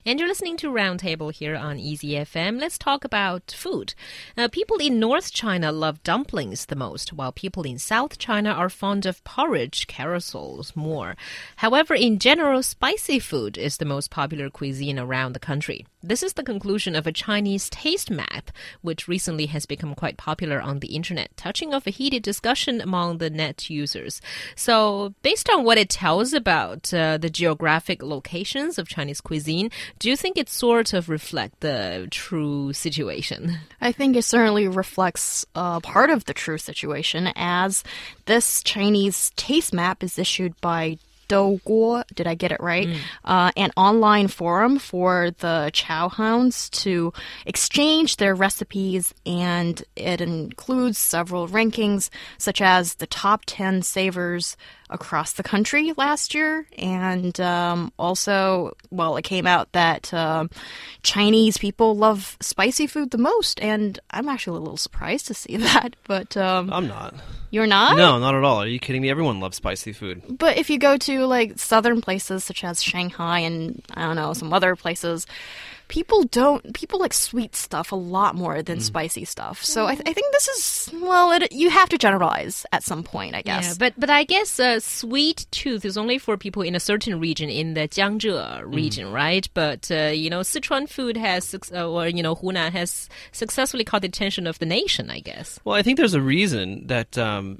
And you're listening to Roundtable here on Easy FM. Let's talk about food. People in North China love dumplings the most, while people in South China are fond of porridge, carousels more. However, in general, spicy food is the most popular cuisine around the country. This is the conclusion of a Chinese taste map, which recently has become quite popular on the internet, touching off a heated discussion among the net users. So, based on what it tells about the geographic locations of Chinese cuisine, do you think it sort of reflects the true situation? I think it certainly reflects part of the true situation, as this Chinese taste map is issued by Douguo, did I get it right? An online forum for the chow hounds to exchange their recipes, and it includes several rankings, such as the top 10 savors across the country last year. And also, well, it came out that Chinese people love spicy food the most, and I'm actually a little surprised to see that. But I'm not. You're not? No, not at all. Are you kidding me? Everyone loves spicy food. But if you go to like southern places such as Shanghai and I don't know, some other places, people like sweet stuff a lot more than spicy stuff. So I think this is, well, you have to generalize at some point, I guess. Yeah, but I guess sweet tooth is only for people in a certain region, in the Jiangzhou region, right? But, Sichuan food has, Hunan has successfully caught the attention of the nation, I guess. Well, I think there's a reason that,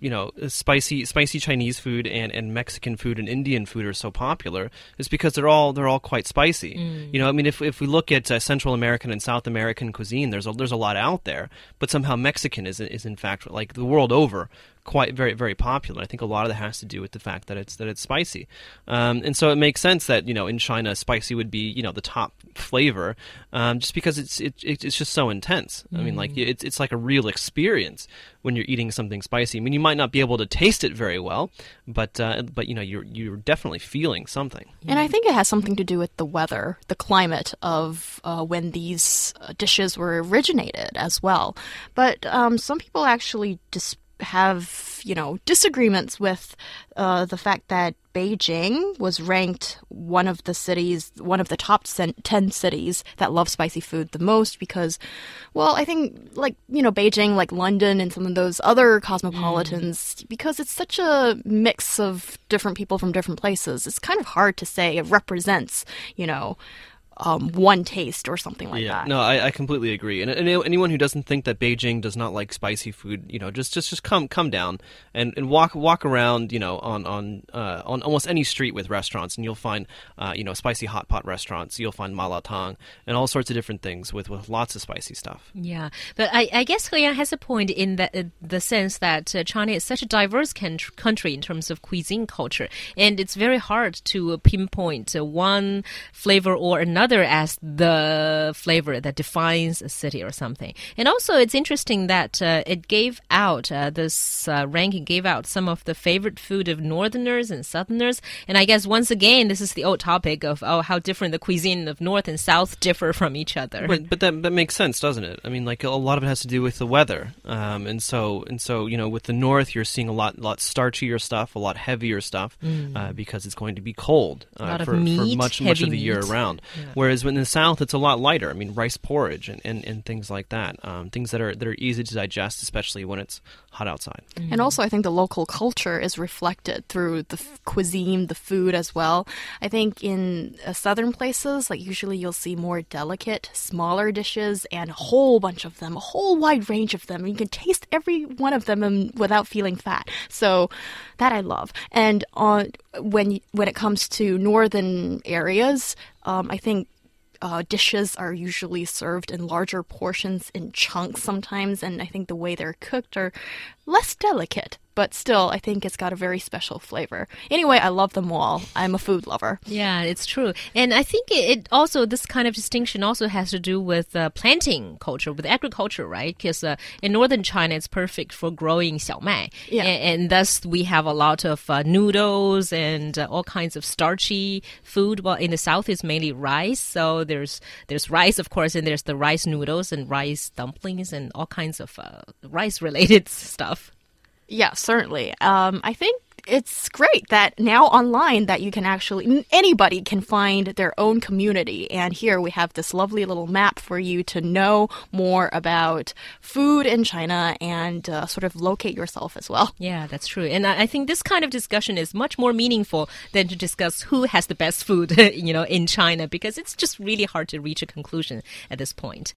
spicy Chinese food and Mexican food and Indian food are so popular. Is because they're all quite spicy. If we look at Central American and South American cuisine, there's a lot out there, but somehow Mexican is in fact, like the world over, quite very, very popular. I think a lot of that has to do with the fact that it's spicy, and so it makes sense that in China spicy would be the top flavor, just because it's just so intense. I mean, like it's like a real experience when you're eating something spicy. I mean, you might not be able to taste it very well, but you're definitely feeling something. And I think it has something to do with the weather, the climate of when these dishes were originated as well. But some people actually have disagreements with the fact that Beijing was ranked one of the top 10 cities that love spicy food the most because, well, I think Beijing, like London and some of those other cosmopolitans, because it's such a mix of different people from different places, it's kind of hard to say it represents, one taste or something like that. No, I completely agree. And anyone who doesn't think that Beijing does not like spicy food, just come down and walk around, on almost any street with restaurants, and you'll find, spicy hot pot restaurants. You'll find malatang and all sorts of different things with lots of spicy stuff. Yeah, but I guess He Yan has a point in the sense that China is such a diverse country in terms of cuisine culture, and it's very hard to pinpoint one flavor or another as the flavor that defines a city or something. And also, it's interesting that it gave out, this ranking gave out some of the favorite food of Northerners and Southerners. And I guess, once again, this is the old topic of how different the cuisine of North and South differ from each other. But that makes sense, doesn't it? I mean, like, a lot of it has to do with the weather. And so with the North, you're seeing a lot starchier stuff, a lot heavier stuff, because it's going to be cold for much of the year around. Yeah. Whereas in the South, it's a lot lighter. I mean, rice porridge and things like that. Things that are easy to digest, especially when it's hot outside. And also, I think the local culture is reflected through the cuisine, the food as well. I think in southern places, like usually you'll see more delicate, smaller dishes and a whole bunch of them, a whole wide range of them. You can taste every one of them without feeling fat. So that I love. And when it comes to northern areas, I think dishes are usually served in larger portions in chunks sometimes, and I think the way they're cooked are less delicate. But still, I think it's got a very special flavor. Anyway, I love them all. I'm a food lover. Yeah, it's true. And I think it also, this kind of distinction also has to do with planting culture, with agriculture, right? Because in northern China, it's perfect for growing xiaomai. Yeah. And thus, we have a lot of noodles and all kinds of starchy food. Well, in the south, it's mainly rice. So there's rice, of course, and there's the rice noodles and rice dumplings and all kinds of rice-related stuff. Yeah, certainly. I think it's great that now online that you can actually, anybody can find their own community. And here we have this lovely little map for you to know more about food in China and sort of locate yourself as well. Yeah, that's true. And I think this kind of discussion is much more meaningful than to discuss who has the best food, in China, because it's just really hard to reach a conclusion at this point.